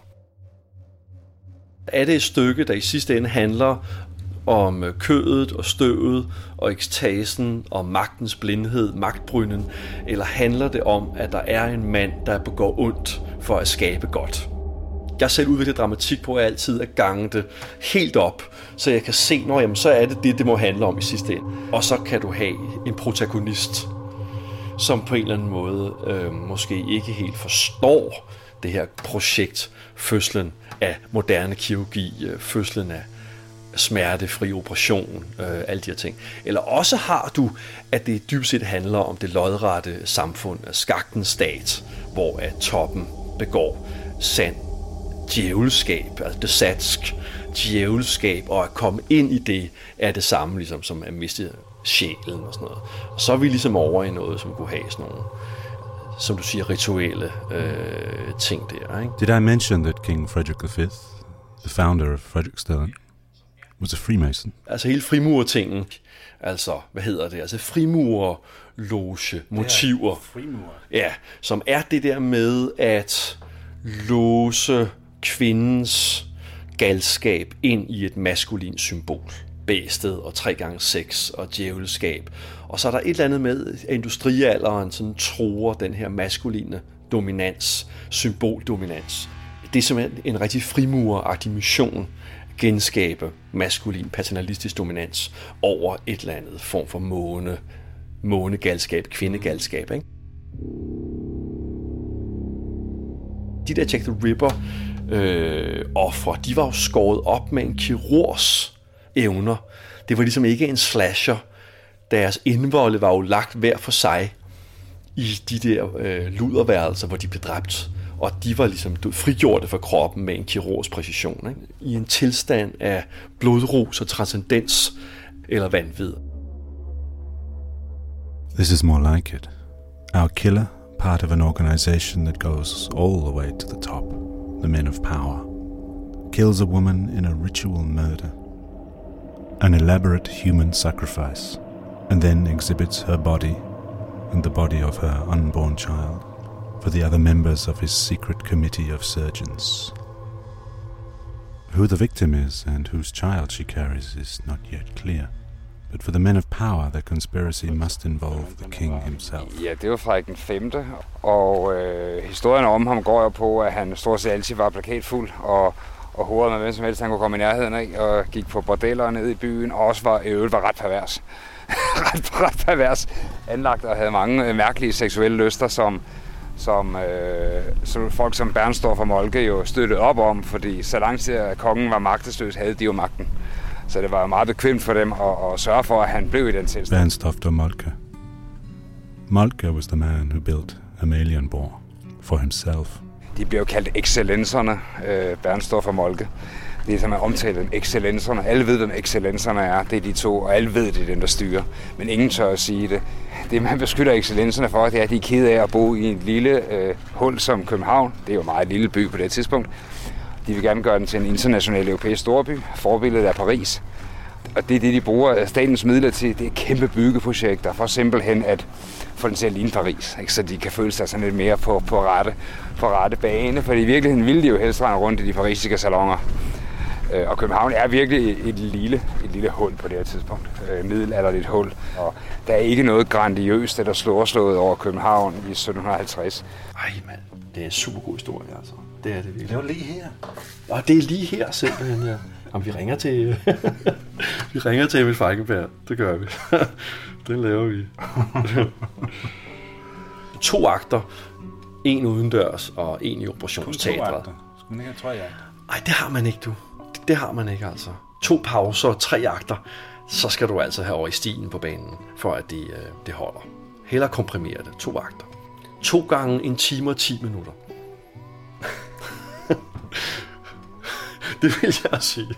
Speaker 5: Er det et stykke, der i sidste ende handler om kødet og støvet og ekstasen og magtens blindhed, magtbrynen, eller handler det om, at der er en mand, der begår ondt for at skabe godt? Jeg har selv udviklet dramatik på altid at gange det helt op, så jeg kan se, når jamen, så er det det, det må handle om i sidste ende. Og så kan du have en protagonist, som på en eller anden måde øh, måske ikke helt forstår det her projekt, fødslen af moderne kirurgi, øh, fødslen af smertefri operation, øh, alle de her ting. Eller også har du, at det dybest set handler om det lodrette samfund, skagtens stat, hvor at toppen begår sand djævelskab, altså det satsk djævelskab, og at komme ind i det er det samme ligesom som at miste sjælen og sådan noget. Og så er vi ligesom over i noget, som kunne have sådan nogle, som du siger, rituelle øh, ting der. Ikke?
Speaker 3: Did I mention that King Frederick the Fifth, the founder of Frederiksstaden, was a Freemason?
Speaker 5: Altså hele frimurtingen, altså hvad hedder det, altså frimurloge, motiver,
Speaker 13: frimur.
Speaker 5: Ja, som er det der med at låse kvindens galskab ind i et maskulint symbol. Bæstet og tre gange sex og djævelskab. Og så er der et eller andet med, at industrialderen sådan truer den her maskuline dominans, symboldominans. Det er simpelthen en rigtig frimuragtig mission, genskabe maskulin paternalistisk dominans over et eller andet form for måne, månegalskab, kvindegalskab, ikke? De der Jack the Ripper øh, ofre, de var jo skåret op med en kirurgs evner. Det var ligesom ikke en slasher. Deres indvolde var jo lagt hver for sig i de der øh, luderværelser, hvor de blev dræbt. Og de var ligesom frigjorte fra kroppen med en kirurgs præcision. Ikke? I en tilstand af blodrus og transcendens eller vanvid.
Speaker 3: This is more like it. Our killer, part of an organization that goes all the way to the top, the men of power, kills a woman in a ritual murder, an elaborate human sacrifice, and then exhibits her body and the body of her unborn child for the other members of his secret committee of surgeons. Who the victim is and whose child she carries is not yet clear. But for the men of power, the conspiracy must involve the king himself.
Speaker 7: Ja, det var Frederik den femte, og øh, historien om ham går jo på, at han stort set altid var plakatfuld, og, og hovedede med hvem som helst, han kunne komme i nærheden af, og gik på bordeller ned i byen, og også var, i øvrigt var ret pervers. ret, ret pervers anlagt, og havde mange øh, mærkelige seksuelle lyster, som, som, øh, som folk som Bernstorff og Moltke jo støttede op om, fordi så lang tid at kongen var magtesløs, havde de jo magten. Så det var meget bekvemt for dem at, at sørge for, at han blev i den tilstand.
Speaker 3: Bernstorff og Moltke. Moltke was the man who built Amalienborg for himself.
Speaker 7: De blev jo kaldt excellenserne, øh, Bernstorff og Moltke. Det er som at omtale dem, excellenserne. Alle ved, hvem excellenserne er. Det er de to, og alle ved, det er dem, der styrer. Men ingen tør at sige det. Det, man beskytter excellenserne for, det er, at de er kede af at bo i en lille øh, hul som København. Det er jo meget lille by på det tidspunkt. De vil gerne gøre den til en international europæisk storby. Forbilledet er Paris. Og det er det, de bruger statens midler til. Det er kæmpe byggeprojekter for simpelthen at få den til at ligne Paris. Ikke? Så de kan føle sig sådan lidt mere på, på, rette, på rette bane. For i virkeligheden ville de jo helst rende rundt i de parisiske salonger. Og København er virkelig et lille, et lille hul på det her tidspunkt. Middelalderligt hul. Og der er ikke noget grandiøst eller storslået over København i sytten halvtreds.
Speaker 5: Ej mand, det er en super god historie altså. Det er det virkelig.
Speaker 13: Det var lige her.
Speaker 5: Og det er lige her simpelthen, ja. Jamen, vi ringer til... vi ringer til Emil Falkenberg. Det gør vi. Det laver vi. To akter. En udendørs og en i operationsteatret.
Speaker 13: Skulle man ikke have tre akter?
Speaker 5: Ej, det har man ikke, du. Det, det har man ikke, altså. To pauser, tre akter. Så skal du altså have over i stilen på banen, for at det, det holder. Hellere komprimere det. To akter. To gange en time og ti minutter. Det vil jeg sige.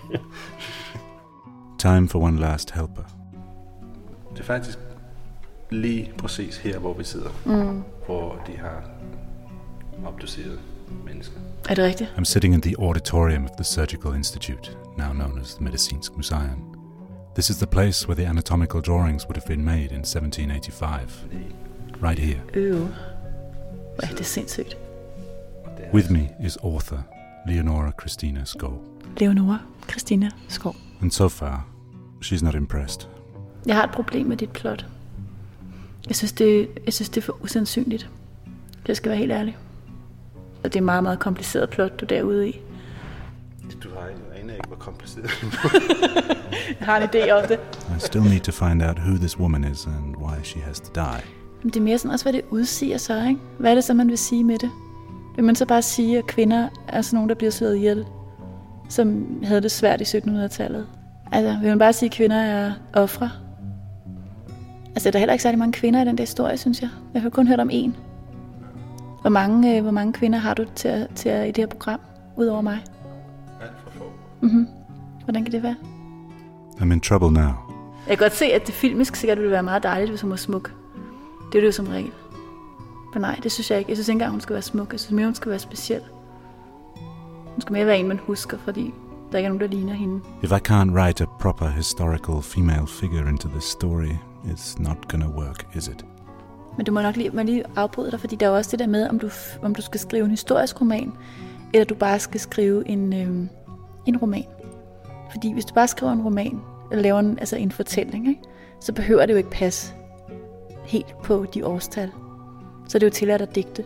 Speaker 3: Time for one last helper.
Speaker 13: Det er faktisk lige præcis her, hvor vi sidder,
Speaker 6: Mm.
Speaker 13: hvor de har obduceret mennesker.
Speaker 6: Er det rigtigt?
Speaker 3: I'm sitting in the auditorium of the Surgical Institute, now known as the Medicinsk Museum. This is the place where the anatomical drawings would have been made in seventeen eighty-five. Right here.
Speaker 6: Øh. Hvor er det sindssygt.
Speaker 3: With me is author Leonora Christina Skov.
Speaker 6: Leonora Christina Skov.
Speaker 3: And so far, she's not impressed.
Speaker 6: Jeg har et problem med dit plot. Jeg synes, det, jeg synes, det er for usandsynligt. Jeg skal være helt ærlig. Og det er meget, meget kompliceret plot, du er derude i.
Speaker 13: Du har jo aner ikke, hvor kompliceret.
Speaker 6: Jeg har en idé om det.
Speaker 3: I still need to find out who this woman is and why she has to die.
Speaker 6: Men det er mere sådan også, hvad det udsiger så, ikke? Hvad er det så, man vil sige med det? Vil man så bare sige, at kvinder er sådan nogen, der bliver slået ihjel, som havde det svært i syttenhundredetallet? Altså, vil man bare sige, at kvinder er ofre? Altså, der er heller ikke særlig mange kvinder i den der historie, synes jeg. Jeg har kun hørt om én. Hvor mange, øh, hvor mange kvinder har du til, til, i det her program, udover mig?
Speaker 13: Alt for få.
Speaker 6: Mhm. Hvordan kan det være?
Speaker 3: I'm in trouble now.
Speaker 6: Jeg kan godt se, at det filmisk sikkert ville være meget dejligt, hvis hun var smuk. Det er det jo som regel. Men nej, det synes jeg ikke. Jeg synes ikke engang, hun skal være smuk. Jeg synes mere, hun skal være speciel. Hun skal mere være en, man husker, fordi der ikke er nogen, der ligner hende.
Speaker 3: If I can't write a proper historical female figure into this story, it's not gonna work, is it?
Speaker 6: Men du må nok lige, må lige afbryde dig, fordi der er også det der med, om du, om du skal skrive en historisk roman, eller du bare skal skrive en, øh, en roman. Fordi hvis du bare skriver en roman, eller laver en, altså en fortælling, ikke, så behøver det jo ikke passe helt på de årstal. Så er det jo tilladt at digte.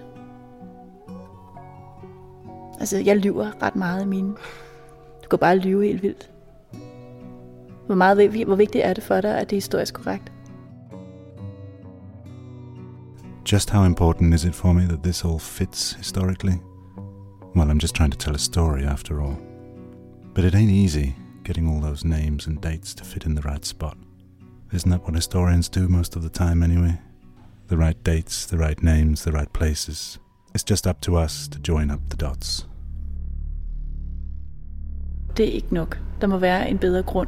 Speaker 6: Altså, jeg lyver ret meget i mine. Du kan bare lyve helt vildt. Hvor, meget, hvor vigtigt er det for dig, at det er historisk korrekt?
Speaker 3: Just how important is it for me that this all fits historically? Well, I'm just trying to tell a story after all. But it ain't easy getting all those names and dates to fit in the right spot. Isn't that what historians do most of the time anyway? The right dates, the right names, the right places. It's just up to us to join up the dots.
Speaker 6: Det er ikke nok. Der må være en bedre grund.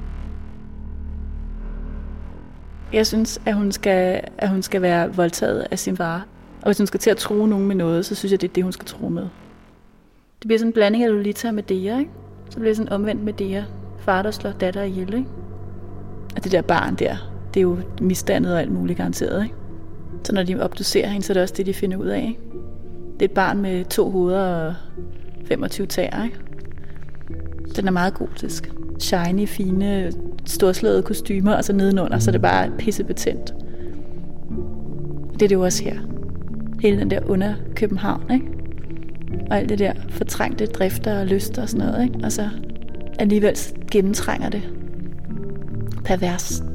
Speaker 6: Jeg synes, at hun skal, at hun skal være voldtaget af sin far. Og hvis hun skal til at true nogen med noget, så synes jeg, det er det, hun skal true med. Det bliver sådan en blanding af Lolita og Medea, ikke? Så bliver det sådan omvendt Medea. Far, der slår datter ihjel, ikke? Og det der barn der, det er jo misdannet og alt muligt garanteret, ikke? Så når de obducerer hende, så er det også det, de finder ud af, ikke? Det er et barn med to hoveder og femogtyve tæer, ikke? Den er meget gotisk. Shiny, fine, storslåede kostymer, og så nedenunder, så er det bare pissebetændt. Det er det jo også her. Hele den der under København, ikke? Og alt det der fortrængte drifter og lyster og sådan noget, ikke? Og så alligevel gennemtrænger det. Pervers.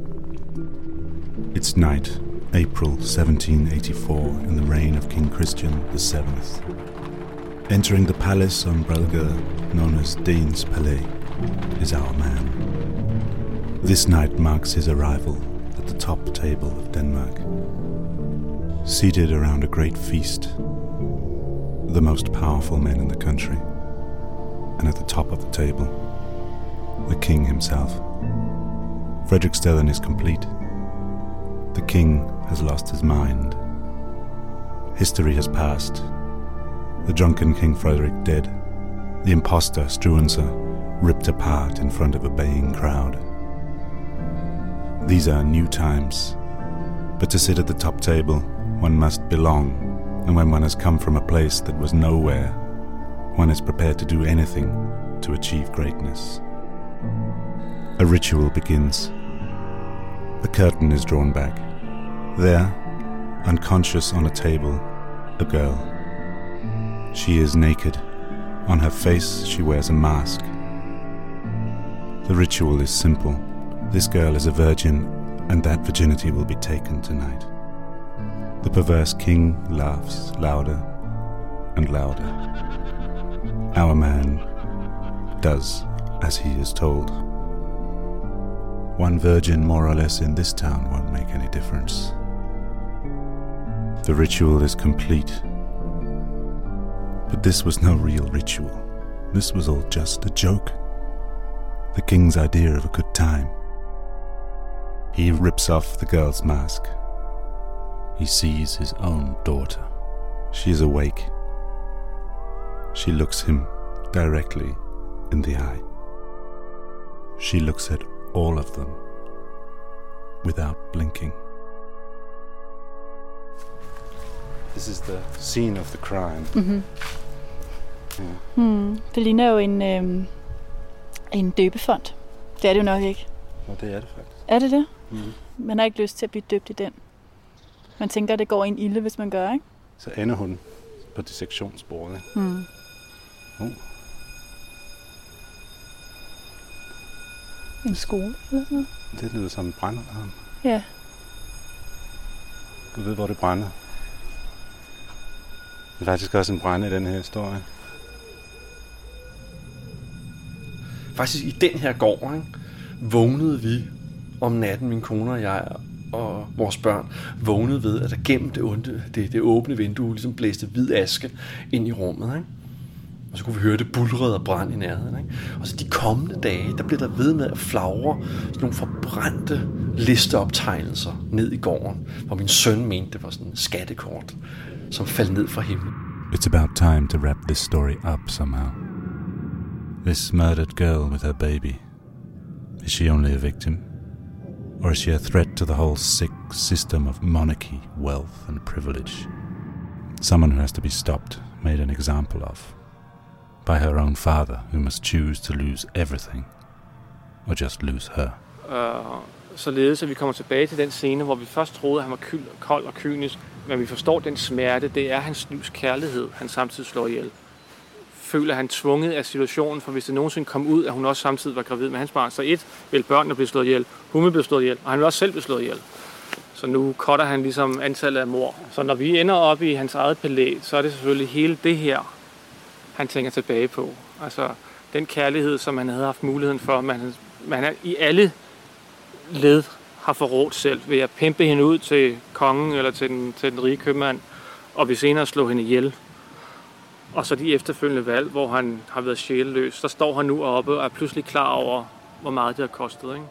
Speaker 3: It's night, April seventeen eighty-four, in the reign of King Christian the seventh. Entering the palace on Bredgade, known as Danes Palais, is our man. This night marks his arrival at the top table of Denmark. Seated around a great feast, the most powerful men in the country, and at the top of the table, the king himself. Frederiksstaden is complete. The king has lost his mind. History has passed. The drunken King Frederick dead. The impostor Struensee ripped apart in front of a baying crowd. These are new times. But to sit at the top table, one must belong. And when one has come from a place that was nowhere, one is prepared to do anything to achieve greatness. A ritual begins. The curtain is drawn back. There, unconscious on a table, a girl. She is naked. On her face, she wears a mask. The ritual is simple. This girl is a virgin, and that virginity will be taken tonight. The perverse king laughs louder and louder. Our man does as he is told. One virgin more or less in this town won't make any difference. The ritual is complete. But this was no real ritual. this was all just a joke. The king's idea of a good time. He rips off the girl's mask. He sees his own daughter. She is awake. She looks him directly in the eye. She looks at all of them without blinking.
Speaker 13: This is the scene of the crime.
Speaker 6: Mm-hmm.
Speaker 13: Yeah.
Speaker 6: Hmm. Det ligner jo en, øhm, en døbefond. Det er det jo nok ikke.
Speaker 13: Og det er det faktisk.
Speaker 6: Er det det?
Speaker 13: Mm-hmm.
Speaker 6: Man har ikke lyst til at blive døbt i den. Man tænker, at det går en ilde, hvis man gør, ikke?
Speaker 13: Så ender hun på dissektionsbordet.
Speaker 6: Hmm.
Speaker 13: Uh.
Speaker 6: En skole eller sådan noget?
Speaker 13: Det lyder som en brændalarm.
Speaker 6: Ja.
Speaker 13: Du ved, hvor det brænder. Det er faktisk også en brænde i den her historie.
Speaker 5: Faktisk i den her gård, ikke, vågnede vi om natten, min kone og jeg og vores børn, vågnede ved, at der gennem det, onde, det, det åbne vindue ligesom blæste hvid aske ind i rummet. Ikke? Og så kunne vi høre det bulrede og brand i nærheden. Ikke? Og så de kommende dage, der blev der ved med at flagre sådan nogle forbrændte listeoptegnelser ned i gården, hvor min søn mente, det var sådan en skattekort, som faldt ned fra himlen.
Speaker 3: It's about time to wrap this story up somehow. This murdered girl with her baby. Is she only a victim? Or is she a threat to the whole sick system of monarchy, wealth and privilege? Someone who has to be stopped, made an example of. By her own father, who must choose to lose everything. Or just lose her.
Speaker 16: Uh, således at vi kommer tilbage til den scene, hvor vi først troede, at han var kyld, kold og kynisk. Men vi forstår den smerte, det er hans livs kærlighed, han samtidig slår ihjel. Føler han tvunget af situationen, for hvis det nogensinde kom ud, at hun også samtidig var gravid med hans barn, så et, vil børnene blive slået ihjel, hun vil blive slået ihjel, og han vil også selv blive slået ihjel. Så nu cutter han ligesom antallet af mord. Så når vi ender op i hans eget palæ, så er det selvfølgelig hele det her, han tænker tilbage på. Altså den kærlighed, som han havde haft muligheden for, man, man er i alle led har forrådt selv ved at pimpe hende ud til kongen eller til den, til den rige købmand, og vi senere slå hende ihjel. Og så de efterfølgende valg, hvor han har været sjælløs, så står han nu oppe og er pludselig klar over, hvor meget det har kostet. Ikke?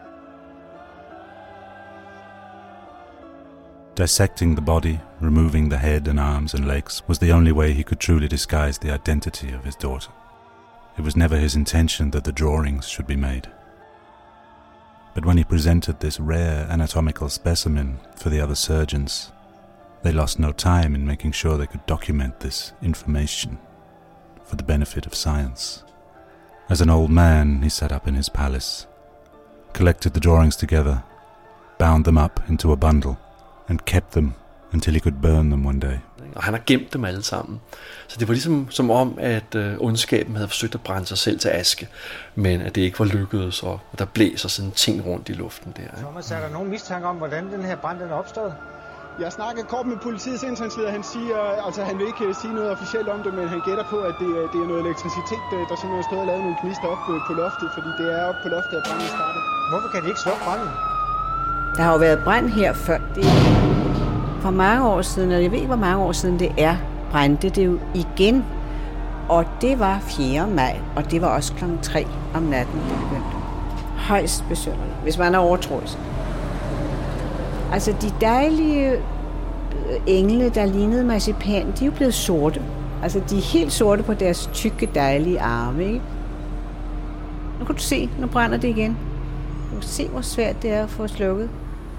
Speaker 3: Dissecting the body, removing the head and arms and legs, was the only way he could truly disguise the identity of his daughter. It was never his intention that the drawings should be made. But when he presented this rare anatomical specimen for the other surgeons, they lost no time in making sure they could document this information for the benefit of science. As an old man, he sat up in his palace, collected the drawings together, bound them up into a bundle, and kept them until he could burn them one day.
Speaker 5: Og han har gemt dem alle sammen. Så det var ligesom som om, at øh, ondskaben havde forsøgt at brænde sig selv til aske, men at det ikke var lykkedes, og der blæser sådan ting rundt i luften der. Ikke?
Speaker 8: Thomas, er der nogen mistanke om, hvordan den her brand den er opstået?
Speaker 10: Jeg snakkede kort med politiets indsatsleder. Han siger, altså han vil ikke sige noget officielt om det, men han gætter på, at det, det er noget elektricitet, der simpelthen stod og lavet nogle gnister op på loftet, fordi det er oppe på loftet, at branden startede.
Speaker 8: Hvorfor kan de ikke slukke branden?
Speaker 9: Der har jo været brand her før. Det for mange år siden, og jeg ved ikke, hvor mange år siden det er, brændte det jo igen. Og det var fjerde maj, og det var også klokken tre om natten, det begyndte. Højst besynderligt, hvis man er overtroisk. Altså, de dejlige engle, der lignede marcipan, de er jo blevet sorte. Altså, de er helt sorte på deres tykke, dejlige arme, ikke? Nu kan du se, nu brænder det igen. Du kan se, hvor svært det er at få slukket.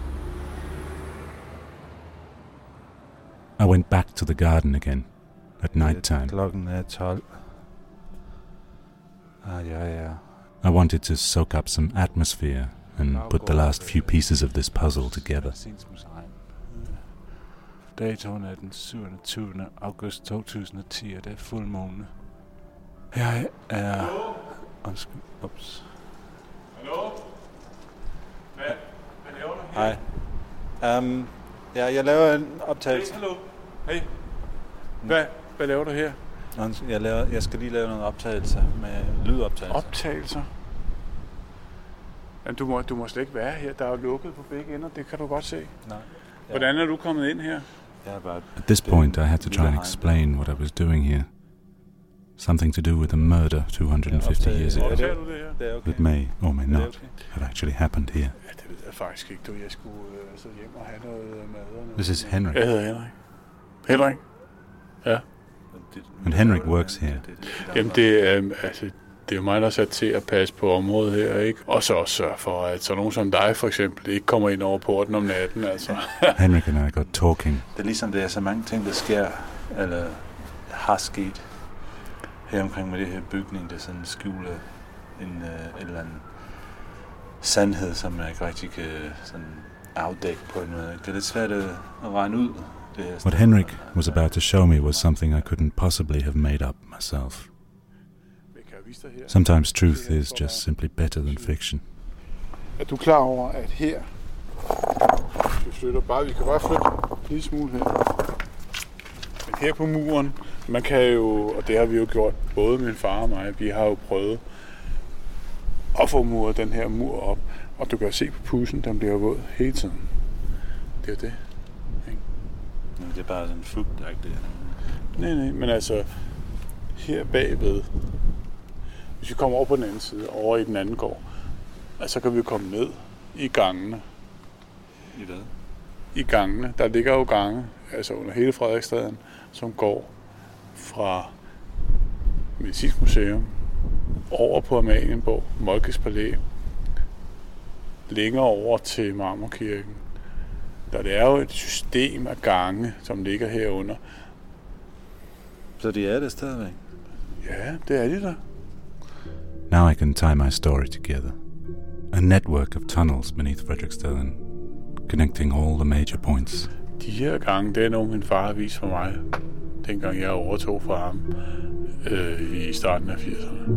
Speaker 3: I went back to the garden again at night time.
Speaker 13: Klokken er tolv. Ah, ja, ja.
Speaker 3: I wanted to soak up some atmosphere and put the last few pieces of this puzzle together.
Speaker 13: Datoen er den syvogtyvende august to tusind og ti, og det er fuldmåne. Jeg er... Undskyld. Ups.
Speaker 4: Hallo? Hvad? Hvad laver du her?
Speaker 13: Hej. Um, ja, jeg laver en optagelse.
Speaker 4: Hey, hallo. Hey. Hvad? Hvad laver du her?
Speaker 13: Jeg, laver, jeg skal lige lave nogle optagelser med lydoptagelser.
Speaker 4: Optagelser? Jamen, du må, du må slet ikke være her. Der er jo lukket på begge ender. Det kan du godt se.
Speaker 13: Nej. Ja.
Speaker 4: Hvordan er du kommet ind her?
Speaker 3: At this point, I had to try and explain what I was doing here. Something to do with a murder two hundred fifty years ago that may or may not have actually happened here.
Speaker 4: Ja, det ved jeg faktisk ikke. Du, jeg skulle øh, så hjem og have noget mad.
Speaker 3: This is Henrik.
Speaker 4: Jeg hedder Henrik. Henrik? Ja.
Speaker 3: And Henrik works here.
Speaker 4: Jamen, det er, øh, altså, det er jo mig, der er sat til at passe på området her, ikke? Og så også sørge for, at så nogen som dig, for eksempel, ikke kommer ind over porten om natten, altså.
Speaker 3: Henrik and I got talking.
Speaker 13: Det er ligesom, det er så mange ting, der sker, eller har sket her omkring med det her bygning, der sådan skjuler en uh, eller anden sandhed, som man ikke rigtig kan sådan afdække på en måde. Det er lidt svært at regne ud. Det her
Speaker 3: What Henrik was about to show me was something I couldn't possibly have made up myself. Sometimes truth is just simply better than fiction.
Speaker 4: Er du klar over, at her, vi flytter bare, vi kan bare flytte en lille smule her. Men her på muren, man kan jo, og det har vi jo gjort, både min far og mig, vi har jo prøvet at få muret den her mur op, og du kan se på pudsen, den bliver våd hele tiden. Det er jo det. Ikke?
Speaker 13: Det er bare sådan fugtagtigt.
Speaker 4: Nej, nej, men altså, her bagved, hvis vi kommer over på den anden side, over i den anden gård, så kan vi komme ned i gangene.
Speaker 13: I hvad?
Speaker 4: I gangene. Der ligger jo gange, altså under hele Frederiksstaden, som går fra Medicinsk Museum over på Amalienborg, Moltkes Palæ, længere over til Marmorkirken. Der det er jo et system af gange, som ligger herunder.
Speaker 13: Så de er der stadigvæk?
Speaker 4: Ja, det er de der.
Speaker 3: Now I can tie my story together. A network of tunnels beneath Frederiksstaden, connecting all the major points.
Speaker 4: De her gange, det er noget, min far har vist for mig, dengang jeg overtog fra ham øh, i starten af firserne.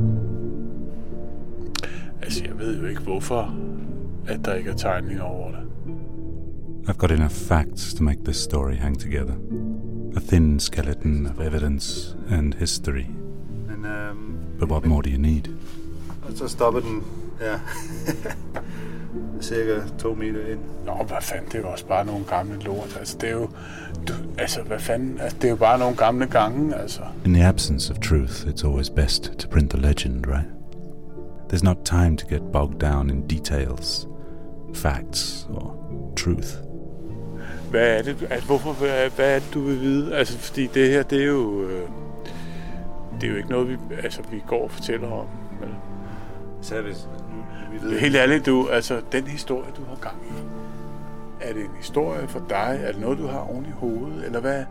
Speaker 4: Altså, jeg ved jo ikke, hvorfor at der ikke er tegninger over det.
Speaker 3: I've got enough facts to make this story hang together. A thin skeleton of evidence and history.
Speaker 13: Men, um,
Speaker 3: But what more do you need?
Speaker 13: Og så stopper den, ja, cirka to meter ind.
Speaker 4: Nå, hvad fanden, det er jo også bare nogle gamle lort. Altså, det er jo, du, altså, hvad fanden, altså, det er jo bare nogle gamle gange, altså.
Speaker 3: In the absence of truth, it's always best to print the legend, right? There's not time to get bogged down in details, facts or truth.
Speaker 4: Hvad er det, altså, hvorfor, hvad, hvad er det, du vil vide? Altså, fordi det her, det er jo, øh, det er jo ikke noget, vi, altså, vi går og fortæller om. Men
Speaker 13: så vi, vi ved
Speaker 4: helt ærligt, du, altså, den historie, du har gang i, er det en historie for dig? Er det noget, du har oven i hovedet? Eller hvad?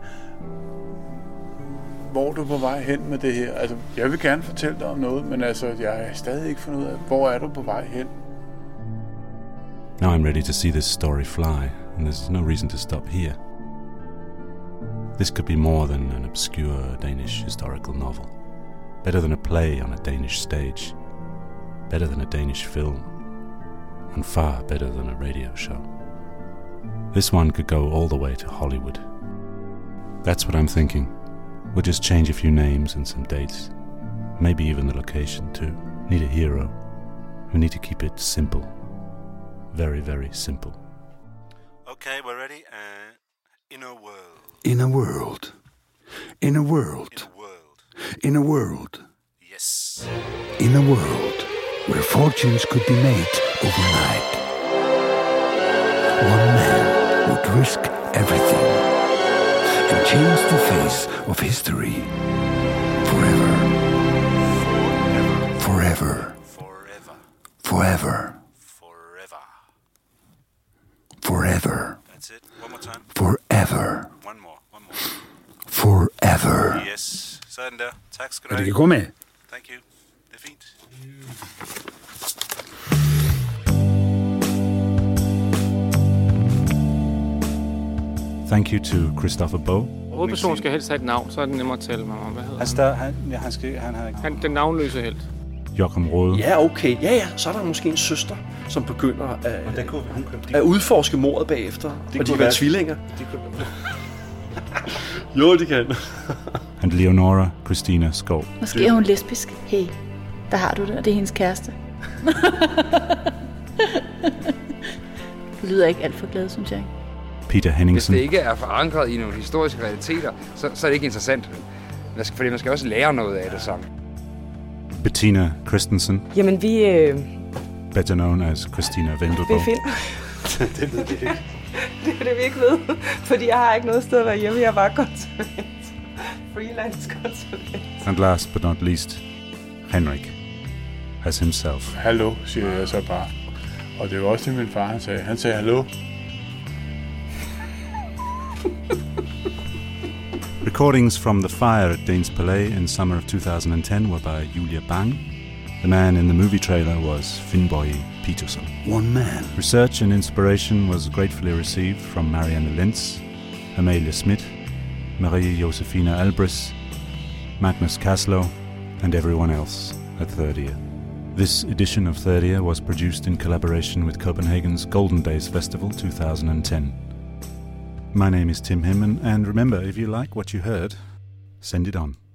Speaker 4: Hvor er du på vej hen med det her? Altså, jeg vil gerne fortælle dig om noget, men altså, jeg har stadig ikke fundet ud af, hvor er du på vej hen?
Speaker 3: Now I'm ready to see this story fly, and there's no reason to stop here. This could be more than an obscure Danish historical novel. Better than a play on a Danish stage. Better than a Danish film. And far better than a radio show. This one could go all the way to Hollywood. That's what I'm thinking. We'll just change a few names and some dates. Maybe even the location too. Need a hero. We need to keep it simple. Very, very simple.
Speaker 13: Okay, we're ready. Uh, in a world.
Speaker 18: In a world. In a world. In a world.
Speaker 13: Yes.
Speaker 18: In a world where fortunes could be made overnight. One man would risk everything and change the face of history forever. Forever.
Speaker 13: Forever.
Speaker 18: Forever.
Speaker 13: Forever.
Speaker 18: Forever.
Speaker 13: That's it. One more time.
Speaker 18: Forever.
Speaker 13: One more. One more.
Speaker 18: Forever.
Speaker 13: Yes. Sådan der. Tak skal du
Speaker 18: Og
Speaker 13: have.
Speaker 18: det kan gå med.
Speaker 13: Thank you. Det er fint.
Speaker 3: Thank you to Christopher Boe.
Speaker 16: Hovedpersonen skal helst have et navn, så er det nemmere at tale mig om. Hvad hedder
Speaker 13: Han, stør, han, ja, han, skal, han har ikke...
Speaker 16: han? Den navnløse helt.
Speaker 3: Joachim Rode.
Speaker 5: Ja, okay. Ja, ja. Så er der måske en søster, som begynder at,
Speaker 13: Og det kunne, hun, de,
Speaker 5: at udforske mordet bagefter.
Speaker 13: Det
Speaker 5: og de
Speaker 13: kunne
Speaker 5: være
Speaker 13: være-
Speaker 5: tvillinger.
Speaker 13: de kunne,
Speaker 5: Jo, de kan.
Speaker 3: And Leonora Christina Skov.
Speaker 6: Måske er hun lesbisk. Hey, der har du det, og det er hendes kæreste. Du lyder ikke alt for glad, synes jeg.
Speaker 3: Peter
Speaker 7: Hvis
Speaker 3: Henningsen.
Speaker 7: det ikke er forankret i nogle historiske realiteter, så, så er det ikke interessant. Fordi man skal også lære noget af det sammen.
Speaker 3: Bettina Christensen.
Speaker 14: Jamen, vi... Øh...
Speaker 3: Better known as Christina Wendelbo.
Speaker 14: Vi finder...
Speaker 5: det ved vi ikke.
Speaker 14: Det er det, vi ikke ved. Fordi jeg har ikke noget sted at være hjemme. Jeg er bare konsulent. Freelance konsulent.
Speaker 3: And last but not least, Henrik as himself.
Speaker 4: Hallo, siger jeg så bare. Og det var også det, min far han sagde. Han sagde hallo.
Speaker 3: Recordings from the fire at Danes Palais in summer of two thousand ten were by Julia Bang. The man in the movie trailer was Finnboy Peterson.
Speaker 18: One man.
Speaker 3: Research and inspiration was gratefully received from Marianne Lentz, Amalie Schmidt, Marie Josefina Albris, Magnus Kaslow, and everyone else at Thirdia. This edition of Thirdia was produced in collaboration with Copenhagen's Golden Days Festival two thousand ten. My name is Tim Himmen, and remember, if you like what you heard, send it on.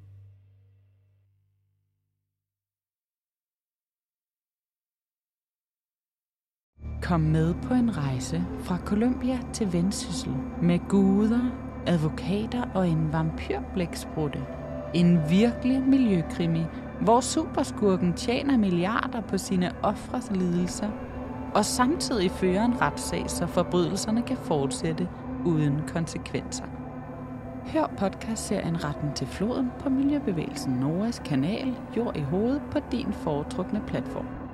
Speaker 19: Kom med på en rejse fra Colombia til Vendsyssel med guder, advokater og en vampyrblæksprutte. En virkelig miljøkrimi, hvor superskurken tjener milliarder på sine ofres lidelser, og samtidig fører en retssag, så forbrydelserne kan fortsætte uden konsekvenser. Hør podcastserien Retten til floden på Miljøbevægelsen Noras kanal Jord i hovedet på din foretrukne platform.